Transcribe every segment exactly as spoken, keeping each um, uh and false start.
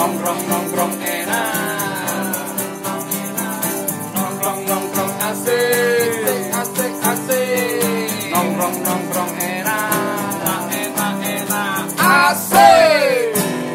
Nongkrong nongkrong enak, nongkrong nongkrong asik, asik asik. Nongkrong nongkrong enak, enak enak asik.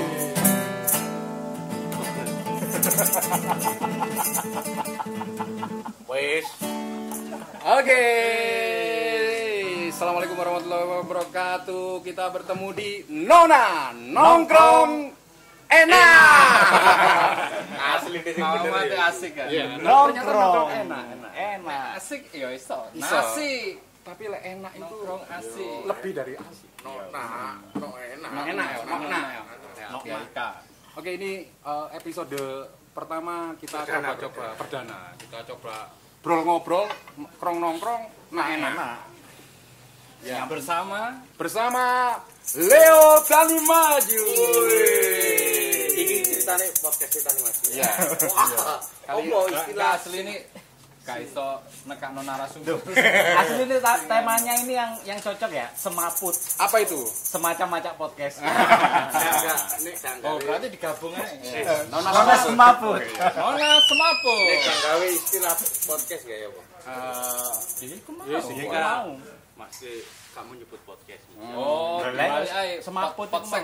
Wes. Oke. Assalamualaikum warahmatullahi wabarakatuh. Kita bertemu di Nona Nongkrong Enak. Asli ini bener ya. Asik kan. Nongkrong enak, enak. Enak. Asik ya iso. Nasi. Tapi lek enak itu nongkrong asik. Lebih dari asik. Nona, no enak. Enak ya, nona. Nona. Oke, ini uh, episode pertama kita coba-coba perdana. Kita coba brol ngobrol, krong nongkrong, nah enak. Ya, bersama bersama Leo Tani Maju. Ini ceritanya podcast Tani Maju. Ya. Kali istilah asli ini gak iso nekakno narasumber. Asli ini temanya ini yang yang cocok ya, semaput. Apa itu? Semacam macam podcast. Enggak, ini Oh, berarti digabung aja. Nona Nona semaput. Nona semaput. Nek gawe istilah podcast gak ya, Bu? Eh, ini Yes, kemana? ini Mau. Masih kamu nyebut podcast. Oh, Boleh. ae Semaput potsek.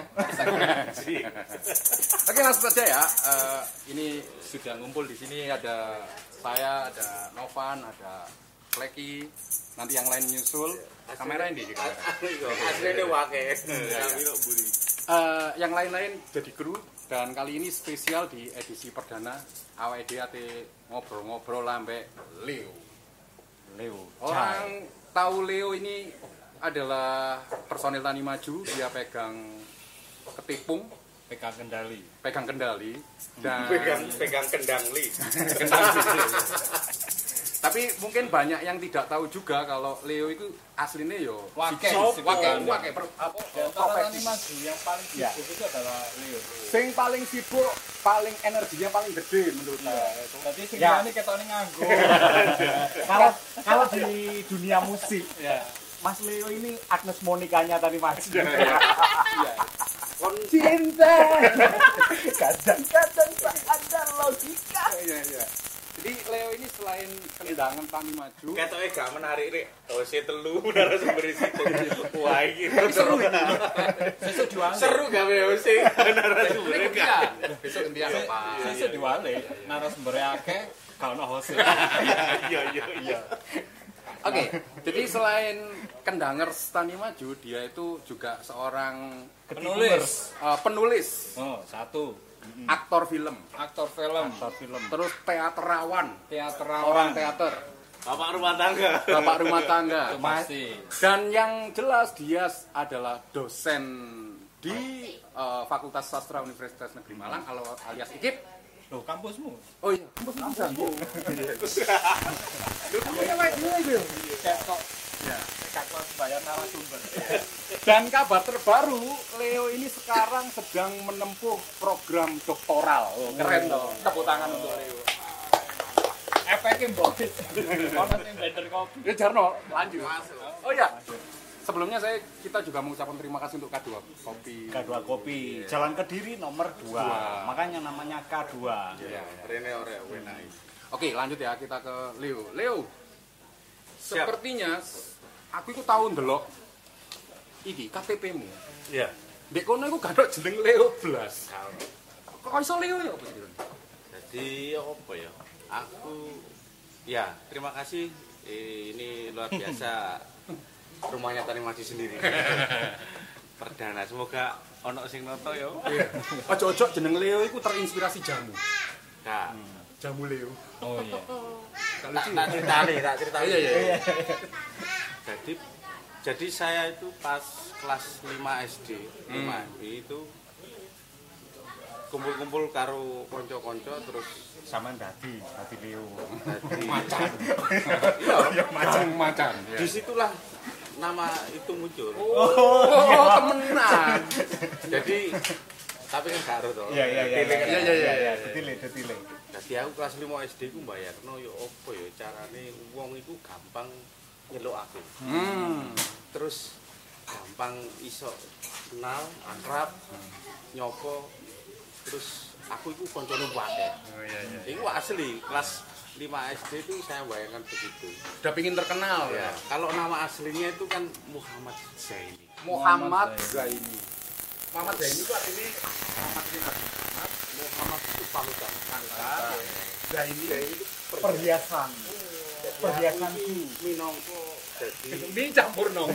Oke, langsung saja ya. Uh, ini sudah ngumpul di sini ada saya, ada Novan, ada Kleki. Nanti yang lain nyusul. Kamera ini di kamera. Asline wake. Uh, yang lain-lain jadi kru dan kali ini spesial di edisi perdana A W D A T ngobrol-ngobrol lambe Leo. Leo. Orang tahu Leo ini adalah personil Tani Maju, dia pegang ketipung, Pegang kendali. pegang kendali dan Pegang pegang kendang li. kendali. Tapi mungkin banyak yang tidak tahu juga kalau Leo itu aslinya yo Wake. wake wake per, apa Antara Tani Maju yang paling sibuk itu adalah Leo. sing paling sibuk, paling energinya paling gede menurut saya. Berarti sebenarnya ketone nganggur. Kalau kalau di dunia musik, Ya. Mas Leo ini Agnes Monikanya Tani Maju. Iya. Cinta. Kadang-kadang tak ada logika. Iya, iya. Jadi Leo ini selain kendangan Tani Maju, Ketoke gak menarik rek. Dose telu narasumber situ. Wah iki seru ini. Sesuk diwale. seru gawe Ose narasumber Ini gak. gantian. Besok gantian apa? Sesuk diwale. Narasumber akeh, kalau ono host. Iya iya iya. Oke, jadi selain kendanger Tani Maju, dia itu juga seorang Penulis. uh, penulis, Oh, satu. aktor film, Aktor film. Aktor film. terus teaterawan, Teaterawan. orang teater, Bapak rumah tangga. bapak rumah tangga. Pasti. Dan yang jelas dia adalah dosen di uh, Fakultas Sastra Universitas Negeri Malang alias I K I P. Loh, kampusmu. Oh iya, kampus Kok ya. kakak bayar narasumber. Dan kabar terbaru, Leo ini sekarang sedang menempuh program doktoral. Oh, keren toh. Tepuk tangan untuk Leo. Efeknya bos. Ono sing blender kopi. Ya Jarno, lanjut. Oh iya. Sebelumnya saya kita juga mengucapkan terima kasih untuk K dua Kopi. K dua Kopi. Jalan Kediri nomor dua. Dua. Makanya namanya K dua. Ya, ya. Rene ora wenai. Oke, lanjut ya kita ke Leo. Leo. Siap. Sepertinya aku itu tahu ndelok iki K T P-mu. Iya. Dek kono iku gak ada jeneng Leo blas. Kok iso Leo ya apa sih? Jadi apa ya? Aku ya terima kasih. Eh, ini luar biasa rumahnya Tani Maju sendiri. Perdana semoga ono sing noto ya. Ojo-ojo jeneng Leo iku terinspirasi jamu. Kak, Jamu Leo. Oh iya. Kalau tak tak ceritani, tak ceritani. Iya, iya. Jadi jadi saya itu pas kelas lima S D, lima S D itu kumpul-kumpul karo konco-konco terus Sama dadi, dadi Leo. dadi Macan. Iya, macan macan. disitulah nama itu muncul. Oh, temenan. Jadi tapi kan karo to. Iya iya iya. Detailnya kan. Iya, iya, iya. Detile detile. Dadi aku kelas lima S D ku mbayarno ya apa ya carane wong iku gampang nyeluk aku. Hmm. Terus gampang iso kenal, akrab, nyopo, terus aku itu koncone akeh. Oh iya iya. Iku asli kelas lima S D itu saya bayangkan begitu. Udah pingin terkenal Ya, ya. kalau nama aslinya itu kan Muhammad Zaini. Muhammad Zaini. Muhammad Zaini itu artinya Muhammad ini Muhammad Muhammad itu panutan. Zaini itu Perhiasan. Perhiasan minangka dadi ini campur nong.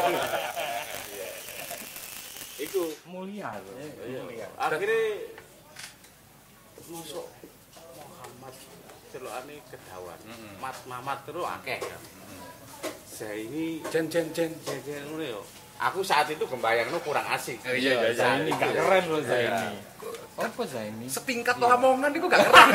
iku mulia loh. Mulia. akhirnya masuk Muhammad celokane kedawan. Mat Mamat terus akeh kan. Zaini Jen jen jen. jajan ngono yo. Aku saat itu gembayangno kurang asik. Oh, iya, iya, Zaini Saat gak itu. keren loh Iya. Zaini. Apa Zaini? Setingkat Lamongan itu gak keren.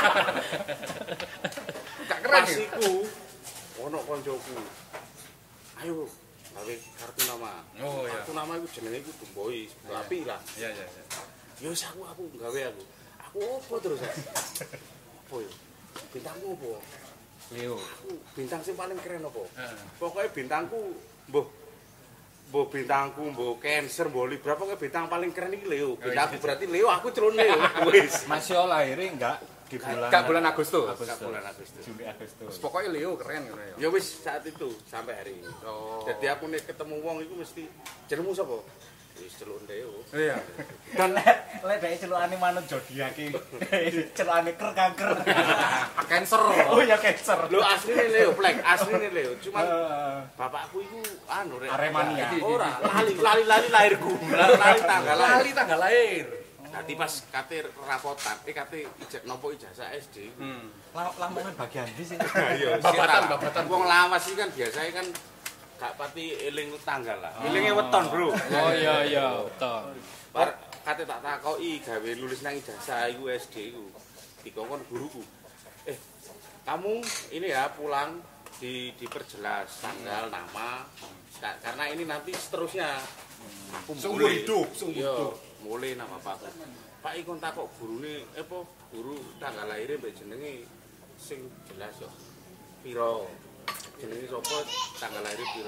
Gak keren. Pas ya? iku ono koncoku. Ayo gawe kartu nama. Oh iya. Kartu nama iku jenenge iku Dumboy, api lah. Iya iya iya. Yo wis aku aku gawe aku. Aku opo terus? Opo yo? Bintangmu opo? Leo. Aku bintang sing paling keren opo? Heeh. Pokoknya bintangku mbuh mbuh bintangku mbuh Cancer mbuh Libra pokoknya bintang paling keren iki Leo. Bintangku berarti Leo, aku celon Leo. Wis. Mas Yo lahirnya enggak di bulan Gak bulan Agustus. Gak bulan Agustus. Juli Agustus. Pokoknya Leo keren kan ya. Ya wis saat itu sampai hari ini. Oh. Jadi aku nek ketemu wong iku mesti jenengmu sapa? Wis celuk Leo. Iya. Dan lek lek dhek celukane manut zodiak iki. Celukane ker kanker. Cancer. Oh ya cancer. Lho asline Leo, plek asline Leo. Cuman Eh, bapakku iku anu rek. Aremania. Ora, lali lali lali lahirku. Lali tanggal lahir. Lali tanggal lahir. Nanti pas kate rapotan, eh kate ijazah nopo ijazah S D. Hmm. la- Lamongan bagian ndi sih? Iya, Babatan, babatan. Wong lawas iki kan biasanya kan gak pati eling tanggal lah. Elinge weton, Bro. Oh iya iya, betul. Bar kate tak takoki gawe lulus nang ijazah iku S D iku. Dikongkon guruku. Eh, kamu ini ya pulang di diperjelas tanggal, nama. Ka- Karena ini nanti seterusnya. Aku Seumur mulai. hidup, seumur Iya, hidup. mulai nama bapakku. Pak ikon takok gurune, eh apa guru tanggal lahirnya mbek jenenge sing jelas yo. Piro? Jenenge sapa? Tanggal lahir piro?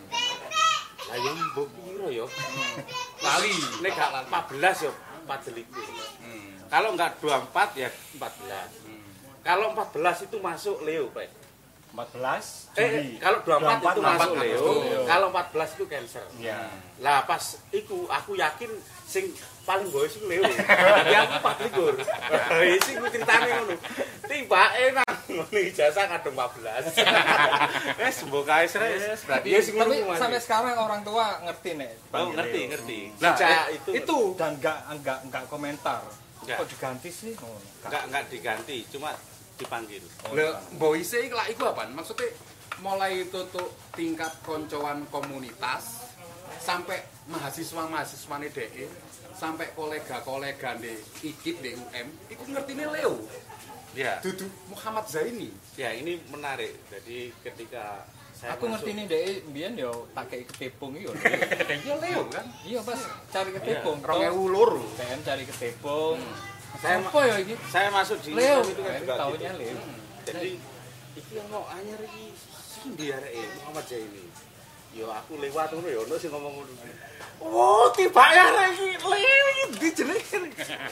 Lah yo mbok piro yo? Lali. Nek gak empat belas yo empat likur. Kalau enggak dua puluh empat ya empat belas. Kalau empat belas itu masuk Leo, Pak. empat belas Eh, Juli. kalau dua puluh empat itu masuk Leo. Leo. Kalau empat belas itu Cancer. Iya. Lah pas iku aku yakin sing paling boy sing Leo. Jadi aku empat likur. Lah sing ku critane ngono. Tibake nang ngene ijazah kadung empat belas. Wes mbok kae sres. Berarti ya sing Tapi ngono. sampai sekarang orang tua ngerti nek. Oh, panggil ngerti, Leo. ngerti. Nah, Sejak eh, itu itu Dan enggak enggak enggak komentar. Enggak. Kok diganti sih? Oh, enggak enggak diganti, cuma dipanggil. Lah, boise iki lak iku apaan? Maksudnya mulai tutuk tingkat koncoan komunitas sampai mahasiswa-mahasiswane D E sampai kolega-kolega di I K I P di U M iku ngertine Leo. Ya. Dudu Muhammad Zaini. Ya, ini menarik. Jadi ketika saya Aku masuk- ngerti nih deh, biyen yo tak kayak ketepung iyo. Iya Leo kan. Iya pas cari ketepung. rong ewu loro. P M cari ketepung. Saya Apa ya ini? saya masuk di Leo, itu kan juga tahunnya gitu. Leo. Jadi iki ono anyar iki sindi areke Muhammad Zaini. Yo aku lewat ngono ya ono sing ngomong ngono. Oh, tiba ya arek iki Leo iki ndi jenenge.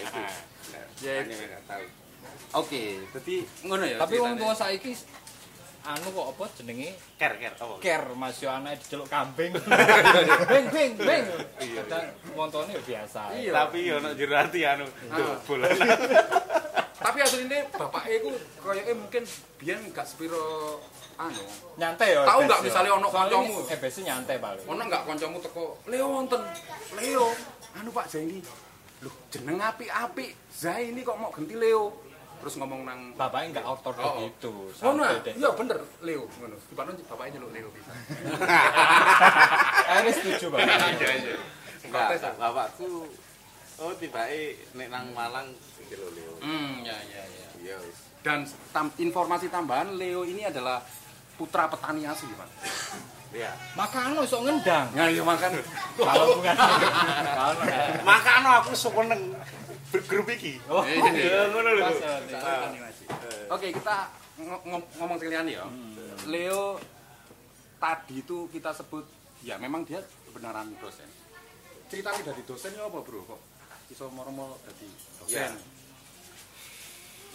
Ya ini enggak tahu. Oke, berarti ngono ya. Tapi wong ceritanya. tua saiki anu kok apa jenenge Ker ker apa? ker Mas yo anake diceluk kambing. Beng beng beng. Kadang montone yo biasa. Iya. Tapi yo ono jero ati anu bola. Tapi aslinya bapaknya itu kayaknya mungkin biyen gak sepiro anu. Nyantai yo. Tahu Ebes nggak yo. misalnya ono Soalnya kancamu? ini Ebes nyantai paling. Ono nggak kancamu teko, "Leo wonten. Leo, anu Pak Zaini. Loh, jeneng apik-apik. Zaini kok mau ganti Leo?" Terus ngomong nang Bapaknya enggak ortodok Oh, oh. gitu. ngono. santai deh. Iya bener, Leo ngono. Dipano bapaknya nyeluk Leo bisa. Akhirnya setuju Bapak. Iya, iya. Enggak, bapakku oh tibake nek nang Malang kilo Leo. Hmm, ya ya ya. Iya wis. Dan tam- informasi tambahan, Leo ini adalah putra petani asli, Pak. Iya. Makan lo sok ngendang. Nah, iya makan. Kalau bukan kalau Makane aku seneng bergrup iki. Oh, Iya, ngono lho. pas, ya. Oke, kita ng- ng- ngomong sekalian ya. Leo tadi itu kita sebut ya memang dia beneran dosen. Ceritanya dari dosen ya apa, Bro? Kok iso moro-moro dadi Ya. dosen?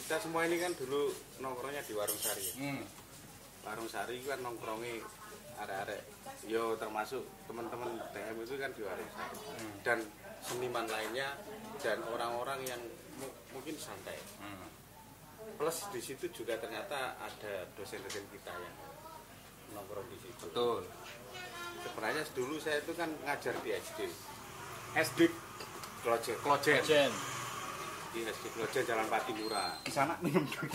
kita semua ini kan dulu nongkrongnya di Warung Sari. Hmm. Warung Sari kan nongkrongnya arek-arek yo termasuk teman-teman T M itu kan di Warung Sari. Hmm. Dan seniman lainnya dan orang-orang yang mu mungkin santai. Hmm. Plus di situ juga ternyata ada dosen-dosen kita yang nongkrong di situ. Betul. Sebenarnya dulu saya itu kan ngajar di S D. S D Klojen. Klojen. Di S D Klojen Jalan Patimura. Di sana minum dulu.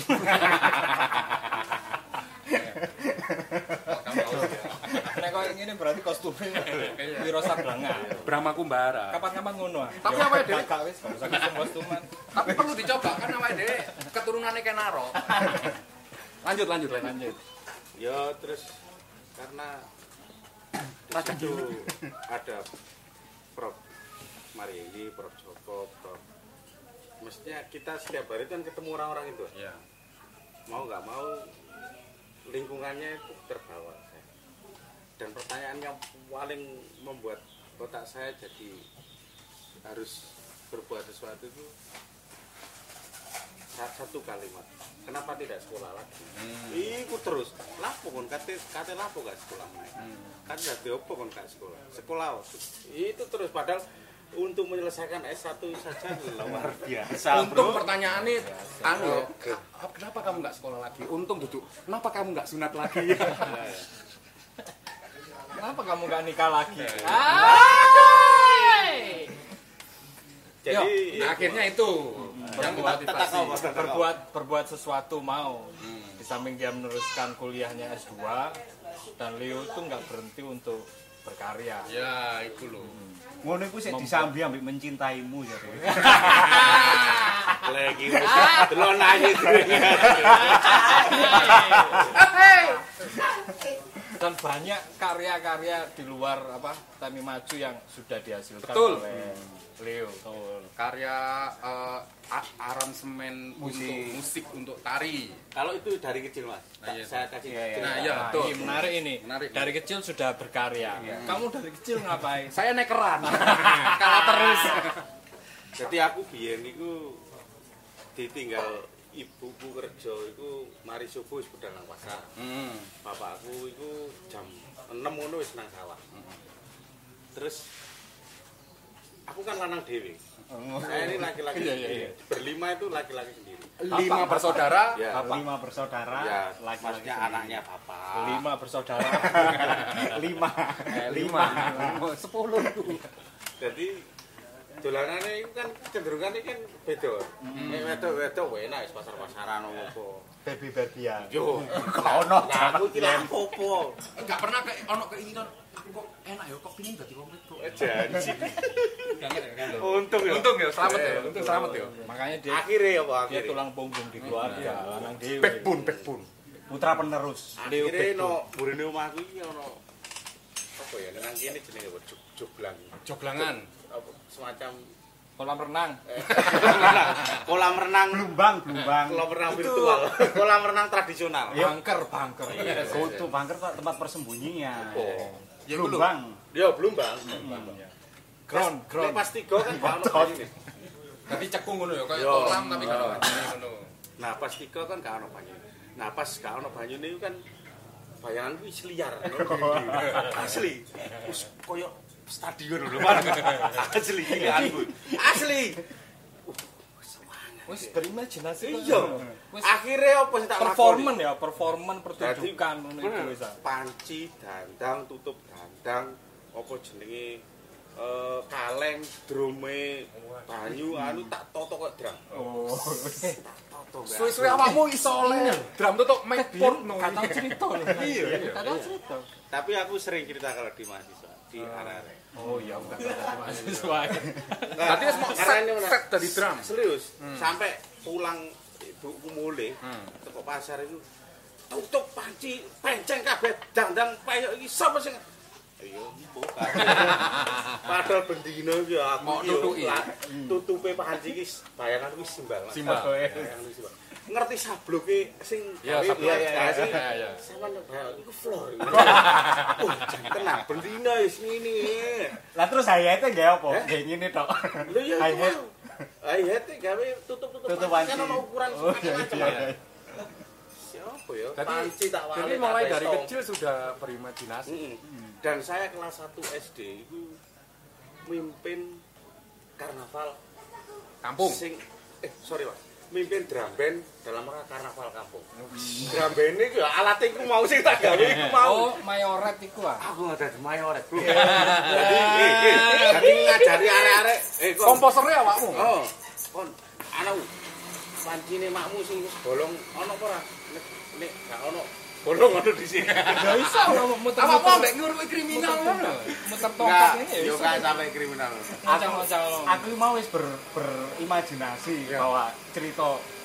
Nek kok ngene berarti kostumnya Wiro Sablanga. Brahma Kumbara. Kapan-kapan ngono. Tapi awake dhewe gak wis gak usah kostum kostuman. Tapi perlu dicoba kan awake dhewe keturunane Kenaro. Lanjut lanjut lanjut. Ya terus karena di situ ada Prof Marieli, Prof Joko, Prof mestinya kita setiap hari kan ketemu orang-orang itu. Iya. Mau nggak mau lingkungannya itu terbawa. Dan pertanyaan yang paling membuat otak saya jadi harus berbuat sesuatu itu satu kalimat. Kenapa tidak sekolah lagi? Hmm. Iku terus. Lapo kon kate kate lapo gak sekolah main. Hmm. Kan dadi opo kon gak sekolah. Sekolah itu terus padahal untuk menyelesaikan S satu saja luar biasa. Untung pertanyaan ini anu, kenapa kamu nggak sekolah lagi? Untung duduk. Kenapa kamu nggak sunat lagi? Kenapa kamu nggak nikah lagi? Jadi Yo, nah, akhirnya itu yang memotivasi. Berbuat berbuat sesuatu mau. Hmm. Di samping dia meneruskan kuliahnya S dua dan Leo tuh nggak berhenti untuk berkarya. Ya, itu loh. Hmm. Ngono iku sik disambi ambek mencintaimu ya. Lagi delon aja. Dan banyak karya-karya di luar apa Tani Maju yang sudah dihasilkan Betul. oleh Leo. Betul. Karya uh, aransemen musik. Untuk musik untuk tari. Kalau itu dari kecil Mas. Nah, iya. Saya kasih. Iya, iya. Nah, iya, betul. Ini menarik ini. Menarik. Dari kecil sudah berkarya. Iya. Kamu dari kecil ngapain? Saya nekeran. Kalah terus. Jadi aku biyen niku ditinggal ibuku kerja iku mari subuh wis budal nang pasar. Hmm. Bapakku iku jam enam ngono wis nang sawah. Hmm. Terus aku kan lanang dhewe. Oh. Saya ini laki-laki. Iya, iya, iya. Berlima itu laki-laki sendiri. Lima bapak, bersaudara, ya. Bapak. Lima bersaudara, ya, laki-laki maksudnya sendiri. Anaknya bapak. Lima bersaudara. lima. Eh, lima. Sepuluh. Jadi dolanane iku kan cenderungannya kan beda. Nek wedok-wedok enak wis pasar-pasaran opo. Baby-babyan. Yo, gak ono. Aku iki lha opo? Enggak pernah ke ono keinginan aku kok enak ya kok pengin dadi wong wedok. Janji. Untung ya. Untung ya, selamat ya. Untung selamat ya. Makanya dia akhirnya apa dia akhirnya? tulang punggung di keluarga, lanang dhewe. Backbone, backbone. Putra penerus. Akhirnya no burine omahku iki ono apa ya nang kene jenenge apa joglang. Joglangan. Apa semacam kolam renang. Kolam renang Blumbang, Blumbang. kolam renang virtual. Kolam renang tradisional. Bunker, bunker. Kutu bangker tempat persembunyian. Oh. Ya Blumbang. Yo Blumbang. Ground, ground. Pas tiga kan gak ono banyune. Dadi cekung ngono ya kaya Yo. kolam tapi gak ono banyune ngono. Nah, pas tiga kan gak ono banyune. Nah, pas gak ono banyune iku kan bayanganku wis liar. Asli. Wis koyo stadion lho, Mas. Asli iki aku. Asli. Wis berimajinasi kok. Iya. Akhirnya apa sih tak Performan ya, performan pertunjukan ngono iku wis. Panci, dandang, tutup dandang, apa jenenge eh kaleng, drume, banyu anu tak toto kok drum. Oh. Tak toto. Suwe-suwe awakmu iso oleh drum tutuk mic port no. Kata cerita lho. Iya. Kata cerita. Tapi aku sering cerita kalau di mahasiswa, di arek-arek. Oh iya, enggak ada mahasiswa. Berarti wis mau set set dadi drum. Serius, sampai pulang ibuku mulai teko pasar itu tutup panci, penceng kabeh dandang payok iki sapa sing iya bukan. Padahal bendino iki aku mau nutuki. Tutupe panci iki bayangan wis simbal. Simbal. Ngerti sabloke sing ya sablok ya ya. Sampeyan iku floor. Oh, tenang bendino wis ngene. Lah terus saya itu nggak apa? Kayak gini tok. Lho ya. Ah iya teh gawe tutup-tutup Tutup panci panci. kan ono ukuran Oh, iya, macam-macam. iya, ya. iya. Siapa ya? Jadi, Panci tak wale. jadi tak mulai dari resto. kecil sudah berimajinasi. Mm-mm. Dan saya kelas satu S D itu mimpin karnaval Kampung. sing eh sorry Pak, mimpin drum band dalam rangka karnaval kampung. Drum band ini ya alat iku mau sing tak gawe iku mau. Oh, mayoret iku ah. Aku nggak ada mayoret. Jadi eh, eh, jadi ngajari arek-arek eh kok Komposernya awakmu. oh kon anu pancine makmu sing wis bolong ana apa ora? Nek nek gak ono bolong ono di sini. Ya iso muter Awakmu ambek ngurui kriminal ngono. muter Enggak, tongkat ini ya yo iso. gak sampai kriminal. Macam-macam. Aku mau wis ber, berimajinasi bahwa cerita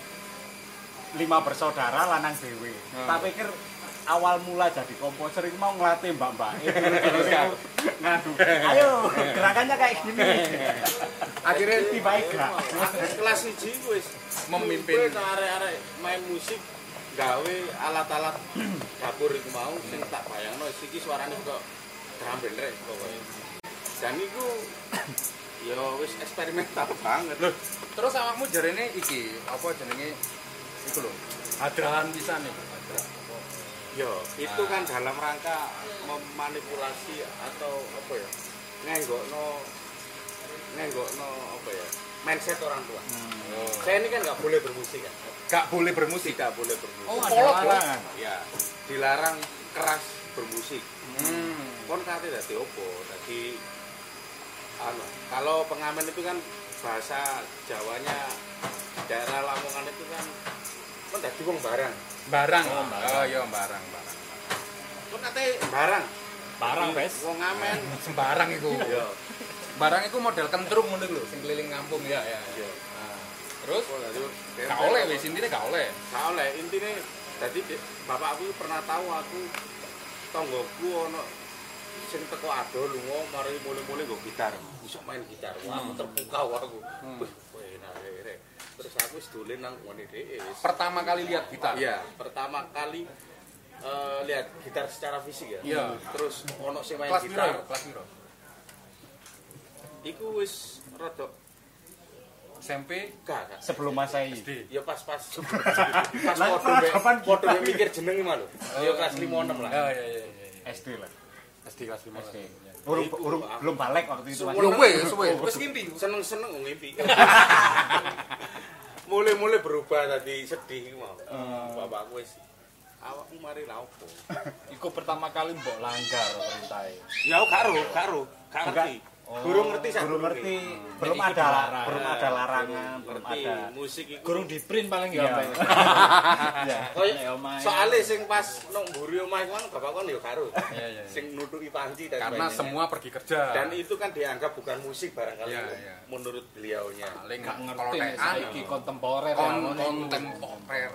lima bersaudara lanang dewe. Tak pikir awal mula jadi komposer itu mau ngelatih mbak-mbak itu ngadu. Ayo, gerakannya kayak gini. Akhirnya tiba gerak. kelas siji wis Memimpin. arek-arek main musik gawe alat-alat dapur iku mau sing tak bayangno iki suarane kok drum band rek pokoke. Dan iku ya wis eksperimental banget. Loh, terus awakmu jarene iki apa jenenge iku lho. Hadrahan pisan nih. Yo, itu kan dalam rangka memanipulasi atau apa ya? Ngenggokno ngenggokno apa ya? Mindset orang tua. Oh. Saya ini kan nggak boleh bermusik kan? Gak boleh bermusik. Tidak boleh bermusik. Oh, ada Kolot, larangan. Ya, dilarang keras bermusik. Hmm. Kon kate dadi opo? Dadi anu, kalau pengamen itu kan bahasa Jawanya daerah Lamongan itu kan kon dadi wong barang. Barang. Oh iya barang, barang. Kon kate barang. Barang, Dadi Bes. Wong ngamen. Sembarang iku. Yo. Barang iku model kentrung ngono lho, sing keliling kampung ya ya. Yo. Nah, terus Oh, dadi gak oleh wis intine gak oleh. Gak oleh, intine dadi bapak aku pernah tahu aku tonggoku ono sing teko ado lunga mari mulai-mulai nggo gitar. Iso main gitar. Wah, aku terpukau aku. Wih, enak rek. Terus aku wis dolen nang ngene dhewe wis. Pertama kali lihat gitar. Iya, pertama kali eh, lihat gitar secara fisik ya. Iya. Terus ono sing main Kelas piro? gitar. Kelas piro? Iku wis rada S M P gak gak. Sebelum Masehi. S D. Ya pas-pas pas Lah, podo mbek peradaban podo gitar. mbek mikir jeneng mah lho. Ya kelas lima enam lah. Oh iya iya iya. S D lah. S D kelas lima. S D. Urung urung belum balik waktu itu Mas. Yo wis, wis, wis ngimpi. Seneng-seneng wong ngimpi. Mulai-mulai berubah tadi sedih iku mau. Bapakku wis awakmu mari la opo? Iku pertama kali mbok langgar perintahe. Ya karo, karo, gak ngerti. Gurung ngerti sak Belum durunge. ngerti, belum Iki ada dilarang. belum ada larangan, belum Ngerti ada. musik iku. Gurung di print paling Iya. ya. Mbak. Iya. Koyo Nek omahe. soalé sing pas nang mburi omah iku kan bapak kon ya karo. Iya iya. Sing nutuki panci dan Karena sebagainya. semua pergi kerja. Dan itu kan dianggap bukan musik barangkali Iya, ya, iya. menurut beliaunya. paling Gak kalau ngerti nek tekan saiki kontemporer ya, kon ngono iku. kontemporer.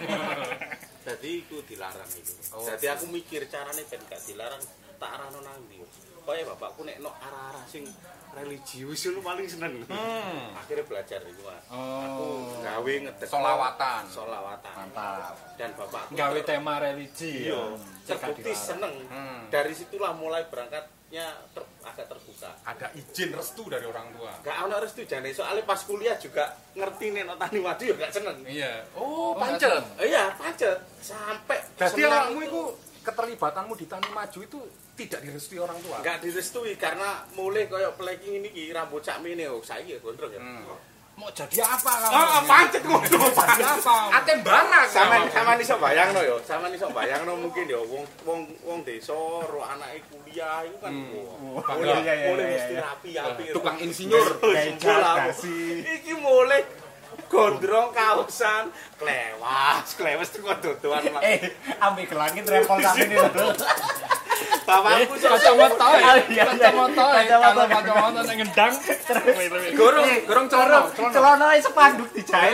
Jadi itu dilarang itu. Oh. Jadi aku mikir carane ben gak dilarang tak arahno nang ndi. Kaya bapakku nek nok arah-arah sing religius itu paling seneng. Hmm. Akhirnya belajar itu Mas. Oh. Aku gawe ngedek Solawatan. solawatan. Mantap. Dan bapakku Gawe ter- tema religi iya, ya. terbukti seneng. Hmm. Dari situlah mulai berangkatnya ter- agak terbuka. Ada izin restu dari orang tua. Gak ono restu jane soalnya pas kuliah juga ngerti nek nok tani madu ya gak seneng. Iya. Oh, Oh, pancet. Eh, iya, pancet sampai Jadi seneng awakmu itu keterlibatanmu di Tani Maju itu tidak direstui orang tua. nggak direstui karena mulai koyo playing ini ki rambut cak mene oh saiki ya gondrong ya. Hmm. Mau jadi apa kamu? Oh, pancet ngono. Jadi apa? Atem barang. Sama sama iso bayangno yo, sama iso bayangno mungkin yo wong wong wong desa ro anake kuliah iku kan Oh, mulai iya, iya, mulai iya, mesti iya. rapi-rapi. Tukang insinyur. Kayak dasi. Iki mulai gondrong kaosan klewas, klewas tuh kok dodoan. Eh, ambil ke langit rempol tapi ini lho. Bapakku Kacamata ya. Iya, iya. Kacamata ya. Kacamata. Kalau kacamata yang ngendang. Gorong, gorong celana, celana. Celana ae sepanduk dijahit.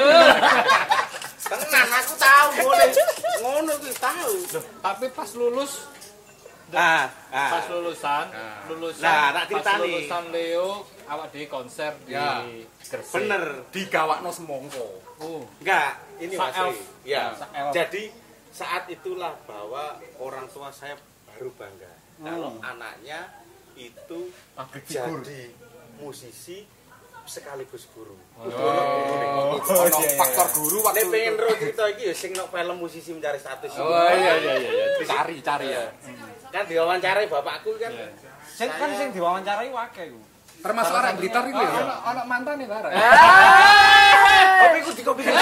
tenan aku tahu mulai ngono kuwi tahu. Tapi pas lulus, Ah, pas ah. lulusan, Nah. lulusan, Nah, tak pas ceritani. lulusan Leo, awak di konser di Ya. Gresik. Bener. Digawakno semongko. Oh. Enggak, ini Sa Mas. elf. Ri. Ya. Sa elf. Jadi saat itulah bahwa orang tua saya baru bangga kalau anaknya itu Pabrik figur. jadi musisi sekaligus guru. Oh, ono faktor guru waktu nek pengen ro cerita iki ya sing nek film musisi mencari status. Oh iya iya iya, cari-cari ya. Kan diwawancarai bapakku kan. Sing kan sing diwawancarai akeh ku. Termasuk orang Blitar itu ya. Ono ono mantane bareng. Kopi ku di kopi.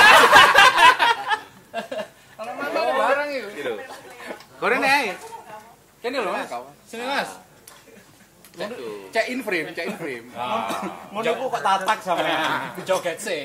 Ono mantane bareng itu. Gitu. Goreng ae. Kene lho Mas. Sini Mas. Cek in frame, cek in frame. Ngono ku kok tatak sampean. Joget sih.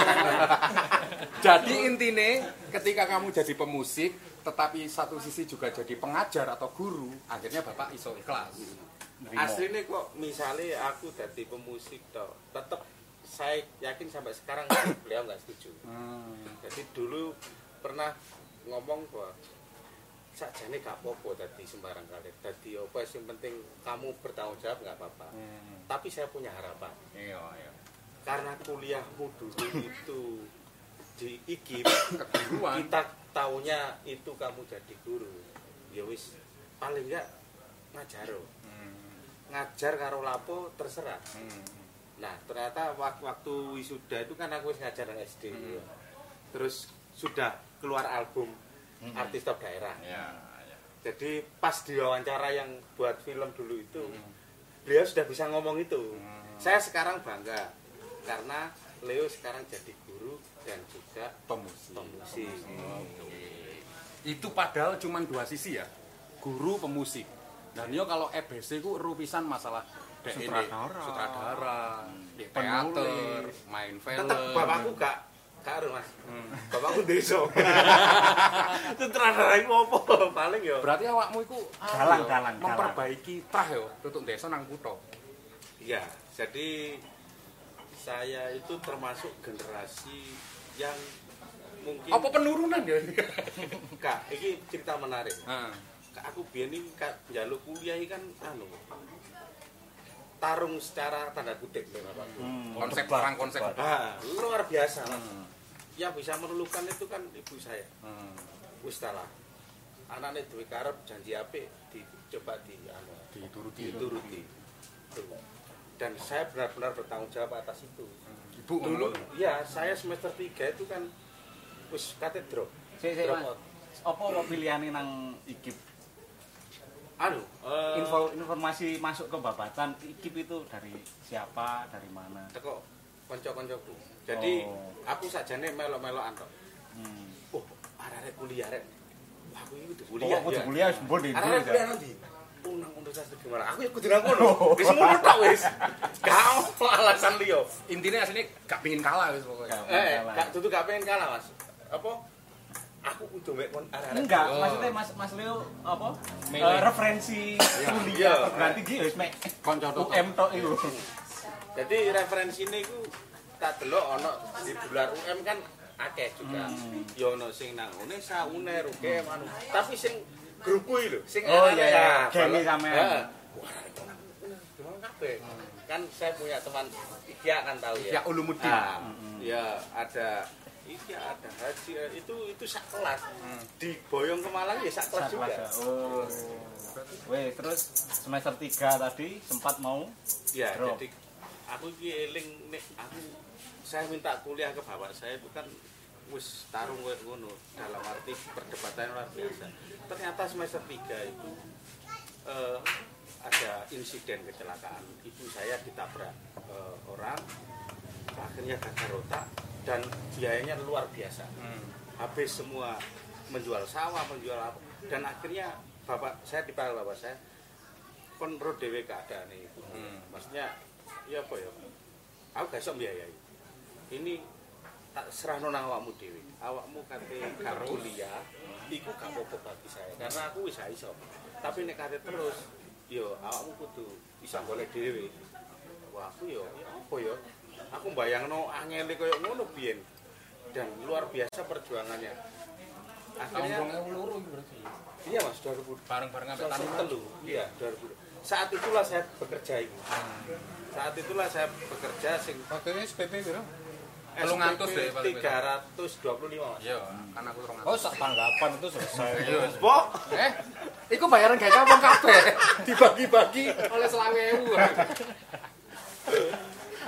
Jadi intine ketika kamu jadi pemusik tetapi satu sisi juga jadi pengajar atau guru, akhirnya Bapak iso ikhlas. Aslinya kok misalnya aku jadi pemusik toh, tetap saya yakin sampai sekarang beliau nggak setuju. Hmm. Jadi dulu pernah ngomong bahwa sakjane gak apa-apa tadi sembarang kali. Tadi apa yang penting kamu bertanggung jawab nggak apa-apa. Hmm. Tapi saya punya harapan. Iya, iya. Karena kuliahmu dulu itu di I G I P, keguruan. Kita taunya itu kamu jadi guru. Ya wis paling enggak ngajaro. Hmm. Ngajar karo lapo terserah. Hmm. Nah, ternyata waktu wisuda itu kan aku wis ngajar nang S D. Hmm. Terus sudah keluar album hmm. artis top daerah. Ya, ya. Jadi pas diwawancara yang buat film dulu itu, hmm. beliau sudah bisa ngomong itu. Hmm. Saya sekarang bangga karena Leo sekarang jadi guru dan juga pemusik. pemusik. Oh, okay. Itu padahal cuma dua sisi ya, guru pemusik. Dan yo kalau E B C ku rupisan masalah sutradara, sutradara, hmm. teater, main film. Tetap bapakku gak karo Mas. Hmm. Bapakku desa. Sutradara iku apa paling yo. Berarti awakmu iku dalang-dalang memperbaiki trah yo tutuk desa nang kutha. Iya, jadi saya itu termasuk generasi yang mungkin apa penurunan ya? Kak, ini cerita menarik. Heeh. Kak aku biyen iki kak njaluk kuliah iki kan anu. Tarung secara tanda kutip lho Bapak. Hmm, konsep perang konsep. Ah, luar biasa. Hmm. Yang bisa melulukan itu kan ibu saya. Hmm. Wis lah. Anaknya duwe karep janji apik dicoba di anu dituruti. Dituruti. Dan saya benar-benar bertanggung jawab atas itu. Ibu dulu iya saya semester tiga itu kan wis kate drop. Sik sik Mas. Apa kok pilihane nang I G I P? Anu, uh, info informasi masuk ke babatan I G I P itu dari siapa, dari mana? Teko kanca-kancaku. Jadi oh. aku sakjane melok-melokan tok. Hmm. Oh, arek kuliah rek. Wah, aku iki kudu kuliah. Oh, kudu kuliah wis mbon ndi. Arek kuliah nanti. Unang Universitas Gimana? Aku ya kudu nang kono. Wis ngono tok wis. Gak ono alasan liya. Intine asline gak pengin kalah wis pokoke. Eh, gak dudu gak pengen kalah, Mas. Apa? Aku kudu mek kon arek. Enggak, oh. maksudnya Mas Mas Leo apa? Uh, referensi kuliah berarti iki wis mek kanca U M tok iku. Jadi referensine iku tak delok ana di bulan U M kan akeh juga. Hmm. Ya ono sing nang Unesa, Uner, U G M anu. Tapi sing grupku iki lho, sing oh iya ya, gene sampean. Heeh. Wah, itu nang Uner kabeh. Kan saya punya teman Ikia kan tahu ya. Ya Ulumuddin. Nah, hmm. Ya ada Iki ada haji itu itu sak kelas. Hmm. Di Boyong ke Malang ya sak kelas juga. Oh. Weh, terus semester tiga tadi sempat mau ya drop. Jadi aku iki eling nek aku saya minta kuliah ke bapak saya itu kan wis tarung koyo ngono dalam arti perdebatan luar biasa. Ternyata semester tiga itu eh, ada insiden kecelakaan. Ibu saya ditabrak eh, orang akhirnya gagal otak dan biayanya luar biasa. Hmm. Habis semua menjual sawah, menjual apa dan akhirnya bapak saya dipanggil bapak saya kon ro dhewe keadaan itu. Hmm. Maksudnya ya apa ya? Aku gak iso mbiayai. Ini tak serahno nang awakmu dhewe. Awakmu kate gak kuliah, iku gak apa-apa bagi saya karena aku wis iso. Tapi nek kate terus, yo awakmu kudu bisa golek dhewe. Wah, aku yo ya apa ya? Aku bayangno angele koyo ngono biyen. Dan luar biasa perjuangannya. Akhirnya tahun dua ribu dua berarti. Iya, Mas, dua ribu bareng-bareng sampai tahun telu. Iya, dua ribu. Saat itulah saya bekerja itu. Saat itulah saya bekerja sing waktu S P P piro? telung atus deh tiga ratus dua puluh lima Mas. Iya, kan aku telung atus. Oh, sak tanggapan itu selesai. Iya, Pok. Eh, iku bayaran gawe kampung kabeh. Dibagi-bagi oleh selawe ewu.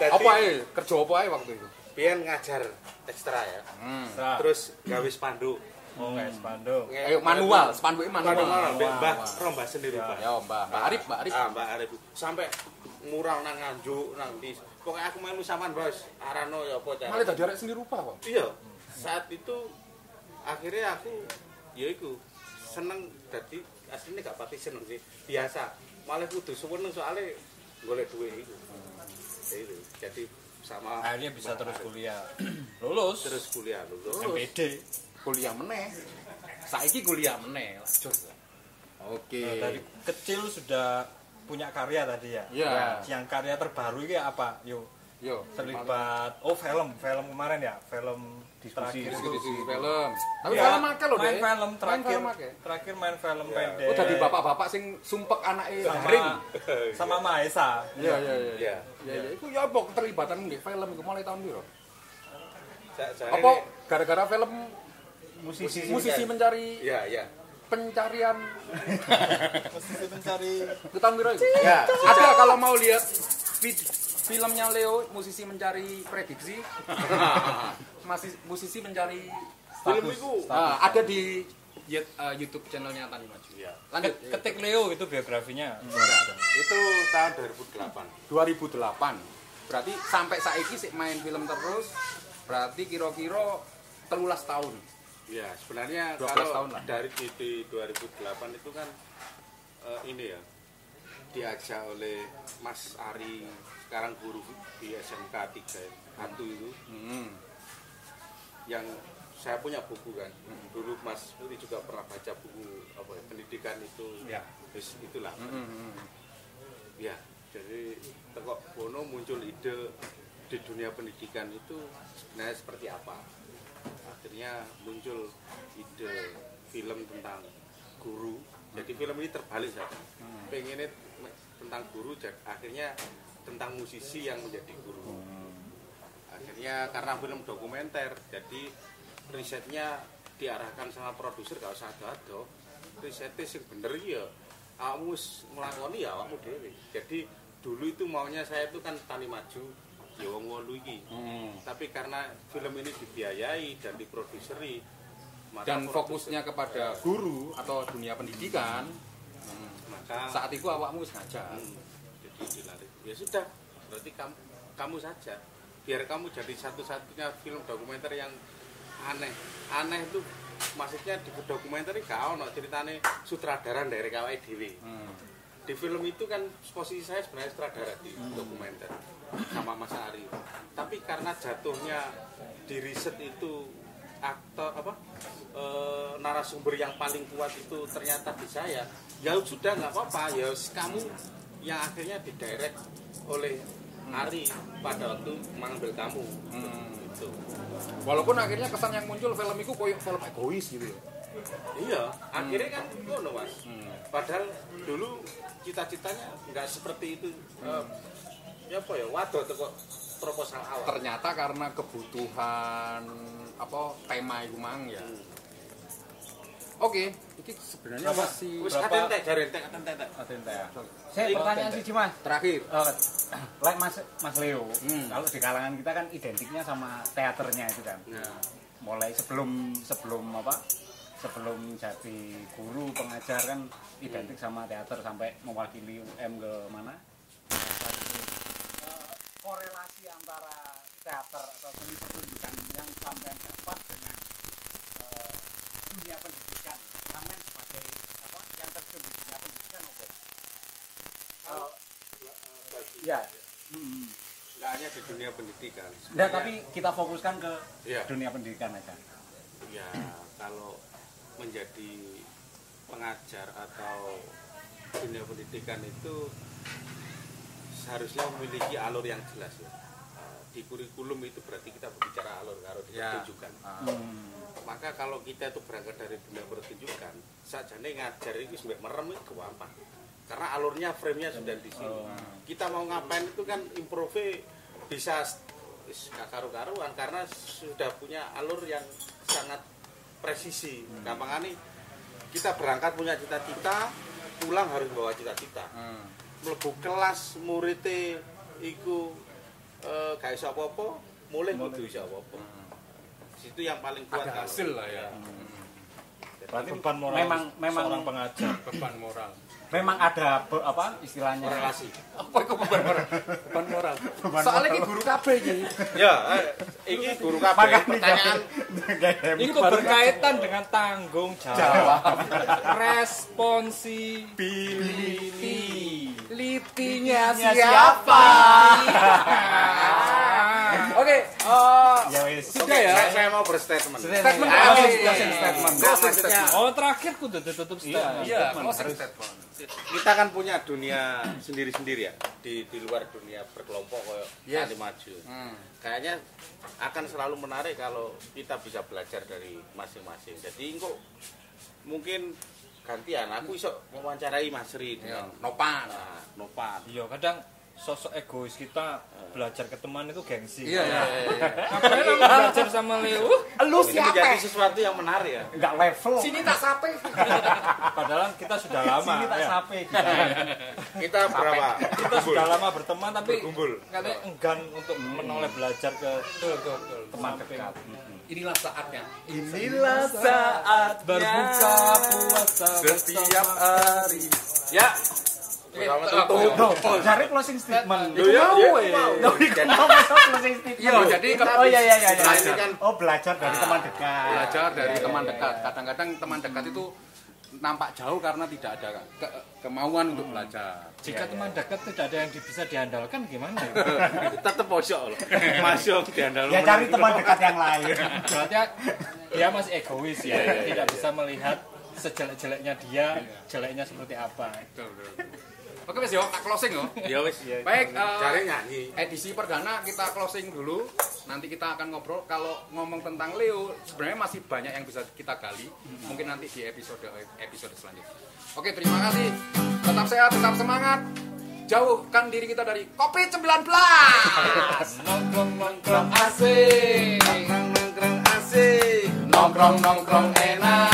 Apa ae? Kerja apa ae waktu itu? Biyen ngajar ekstra ya. Hmm. Terus gawe spanduk. Oh, nggak spanduk. Ayo manual, spanduknya manual. Manual, Mbah Rombah sendiri, Pak. Ya, Mbak. Mbak Arif, Mbak Arif. Ah, Mbak Arif. Sampai mural nang Nganjuk, nang di. Pokoknya aku melu sampean, Bos. Arano ya apa cara. Malah dadi arek seni rupa, Pak. Iya. Saat itu akhirnya aku ya iku seneng dadi aslinya gak pati seneng sih. Biasa. Malah kudu seneng soalnya golek duit iku. Ya itu. Jadi sama Akhirnya bisa terus kuliah. Lulus. terus kuliah lulus. M P D. Kuliah meneh. Saiki kuliah meneh, lanjut. Oke. Nah, dari kecil sudah punya karya tadi ya. Iya. Yang karya terbaru ini apa? Yuk. Yo, Terlibat. Oh, film, film kemarin ya, film Diskusi, terakhir diskusi itu. film. Tapi Ya, film akeh lho, main Dek. film terakhir. Main film akeh. Terakhir main film Ya. pendek. Oh, dadi bapak-bapak sing sumpek anake sama garing. sama Maesa. Iya, iya, iya. Iya. Ya, ya, iku ya apa keterlibatan nggih film iku mulai tahun piro? Sa- sa- Apa gara-gara film Musisi. musisi mencari Iya, iya. pencarian Musisi mencari. itu tahun piro itu? Ya, Ada kalau mau lihat vid- filmnya Leo, musisi mencari prediksi. Masih musisi mencari film itu Ah, ada di Yut- eh, YouTube channelnya Tani Maju. ya. Lanjut. Ket- Ketik Leo itu biografinya. Itu tahun dua ribu delapan. dua ribu delapan. Berarti sampai saiki sik main film terus. Berarti kira-kira telulas tahun. Ya, sebenarnya dua belas kalau tahun lah. dari di, di dua ribu delapan itu kan eh, ini ya diajak oleh Mas Ari, sekarang guru di S M K tiga Hantu itu, Hmm. yang saya punya buku kan. Dulu Mas Putri juga pernah baca buku apa ya, pendidikan itu. Ya. Wis, itulah. Hmm. Ya, jadi tekok Bono muncul ide di dunia pendidikan itu sebenarnya seperti apa. Akhirnya muncul ide film tentang guru. Jadi film ini terbalik saja. Pengennya tentang guru, jadi akhirnya tentang musisi yang menjadi guru. Akhirnya karena film dokumenter, jadi risetnya diarahkan sama produser, gak usah ado-ado. Risetnya sing bener ya, awakmu nglakoni ya awakmu dhewe. Jadi dulu itu maunya saya itu kan Tani Maju, ya wong wolu iki. Hmm. Tapi karena film ini dibiayai dan diproduseri, maka Dan produser- fokusnya kepada guru atau dunia pendidikan. maka Saat itu awakmu wis ngajar. Hmm, jadi dilarik. Ya sudah, berarti kamu kamu saja. Biar kamu jadi satu-satunya film dokumenter yang aneh. Aneh itu maksudnya di dokumenter ini gak ono ceritane sutradara dari kawai dhewe. Hmm. Di film itu kan posisi saya sebenarnya sutradara di dokumenter sama Mas Ari. Tapi karena jatuhnya di riset itu aktor apa e, narasumber yang paling kuat itu ternyata di saya, ya sudah nggak apa-apa, ya kamu yang akhirnya didirect oleh Ari pada waktu mengambil kamu. Hmm. Itu. Walaupun akhirnya kesan yang muncul film itu koyo film egois gitu ya. Iya, akhirnya kan ngono Mas. Hmm. Padahal dulu cita-citanya nggak seperti itu. Eh, ya apa ya, waduh kok proposal awal. Ternyata karena kebutuhan apa tema itu mang ya. Hmm. Oke, ini sebenarnya Berapa? masih Wis Berapa- katen tek jare tek katen tek. Atente ya. Saya pertanyaan sih Mas. terakhir. Eh, like Mas Mas Leo, Hmm. kalau di kalangan kita kan identiknya sama teaternya itu kan. Nah, Mulai sebelum sebelum apa? Sebelum jadi guru pengajar kan identik sama teater sampai mewakili U M ke mana? Eh, korelasi antara teater atau seni pertunjukan yang sampai dapat dengan eh, dunia pendidikan, sampai sebagai apa? Yang terjun di dunia pendidikan oke. Eh, ya. Hmm. nggak hanya di dunia pendidikan. Nah, Sebenarnya- tapi kita fokuskan ke Iya. dunia pendidikan aja. Ya, kalau menjadi pengajar atau dunia pendidikan itu seharusnya memiliki alur yang jelas ya. Eh, Di kurikulum itu berarti kita berbicara alur kalau di Ya. pertunjukan. Hmm. Maka kalau kita itu berangkat dari dunia pertunjukan, sajane ngajar itu sampai merem itu gampang. Karena alurnya, frame-nya sudah di sini. Oh. Kita mau ngapain itu kan improve bisa wis gak karu-karuan karena sudah punya alur yang sangat presisi. Hmm. Gampangane kita berangkat punya cita-cita, pulang harus bawa cita-cita. Hmm. Mlebu kelas muridnya iku eh gak iso apa-apa, mulai kudu iso apa-apa. Situ yang paling kuat ada hasil lah ya. Berarti beban moral memang memang seorang pengajar. Beban moral. Memang ada be, apa istilahnya relasi. Apa itu beban moral? Beban moral. Soalnya ini guru K B iki. Ya, eh, ini guru K B pertanyaan Itu berkaitan dengan tanggung jawab, responsibility. Litinya siapa? Oke, eh, ya wis. sudah ya. saya, saya mau berstatement. Statement Ah, terakhir. closing statement. Closing Maksudnya, statement. Oh, terakhir kudu ditutup statement. Iya, closing statement. kita kan punya dunia sendiri-sendiri ya di di luar dunia berkelompok kayak Yes. Tani Maju. Hmm. Kayaknya akan selalu menarik kalau kita bisa belajar dari masing-masing. Jadi kok mungkin gantian aku iso mewawancarai Mas Ri Ya, dengan nopan. nah, Nopan. Iya, kadang sosok egois kita belajar ke teman itu gengsi. Iya, iya, iya. Ngapain kamu belajar sama Leo? Lu Ini menjadi sesuatu yang menarik ya. Enggak level. Sini tak sape. Padahal kita sudah lama. Sini tak ya. sape. Kita berapa? Kita sudah lama berteman tapi Berkumpul. katanya enggan untuk menoleh belajar ke Betul, betul, betul. Teman dekat. Inilah saatnya. Inilah saat berbuka puasa Setiap hari. Ya. Oke, Bersama eh, tutup. Oh, cari closing statement. Loh, ya, mau, ya, eh. mau. Mau masuk closing statement. Iya, jadi kalau Oh iya iya iya. Nah, ini iya. kan Oh, belajar dari teman dekat. belajar dari Iya, iya, teman iya. dekat. Kadang-kadang teman dekat itu nampak jauh karena tidak ada ke- kemauan untuk belajar. Jika teman dekat tidak ada yang bisa diandalkan gimana ya? tetap pojok loh. Masuk di andal. Ya cari teman dekat yang lain. Berarti dia masih egois ya, tidak bisa melihat sejelek-jeleknya dia, jeleknya seperti apa. Betul, betul. Oke, Mas yo, tak closing yo. Ya wis. Baik, eh, Cari nyanyi. edisi perdana kita closing dulu. Nanti kita akan ngobrol. Kalau ngomong tentang Leo, sebenarnya masih banyak yang bisa kita gali. Mungkin nanti di episode episode selanjutnya. Oke, terima kasih. Tetap sehat, tetap semangat. Jauhkan diri kita dari covid sembilan belas. Nongkrong-nongkrong asik. Nongkrong asik. Nongkrong nongkrong enak.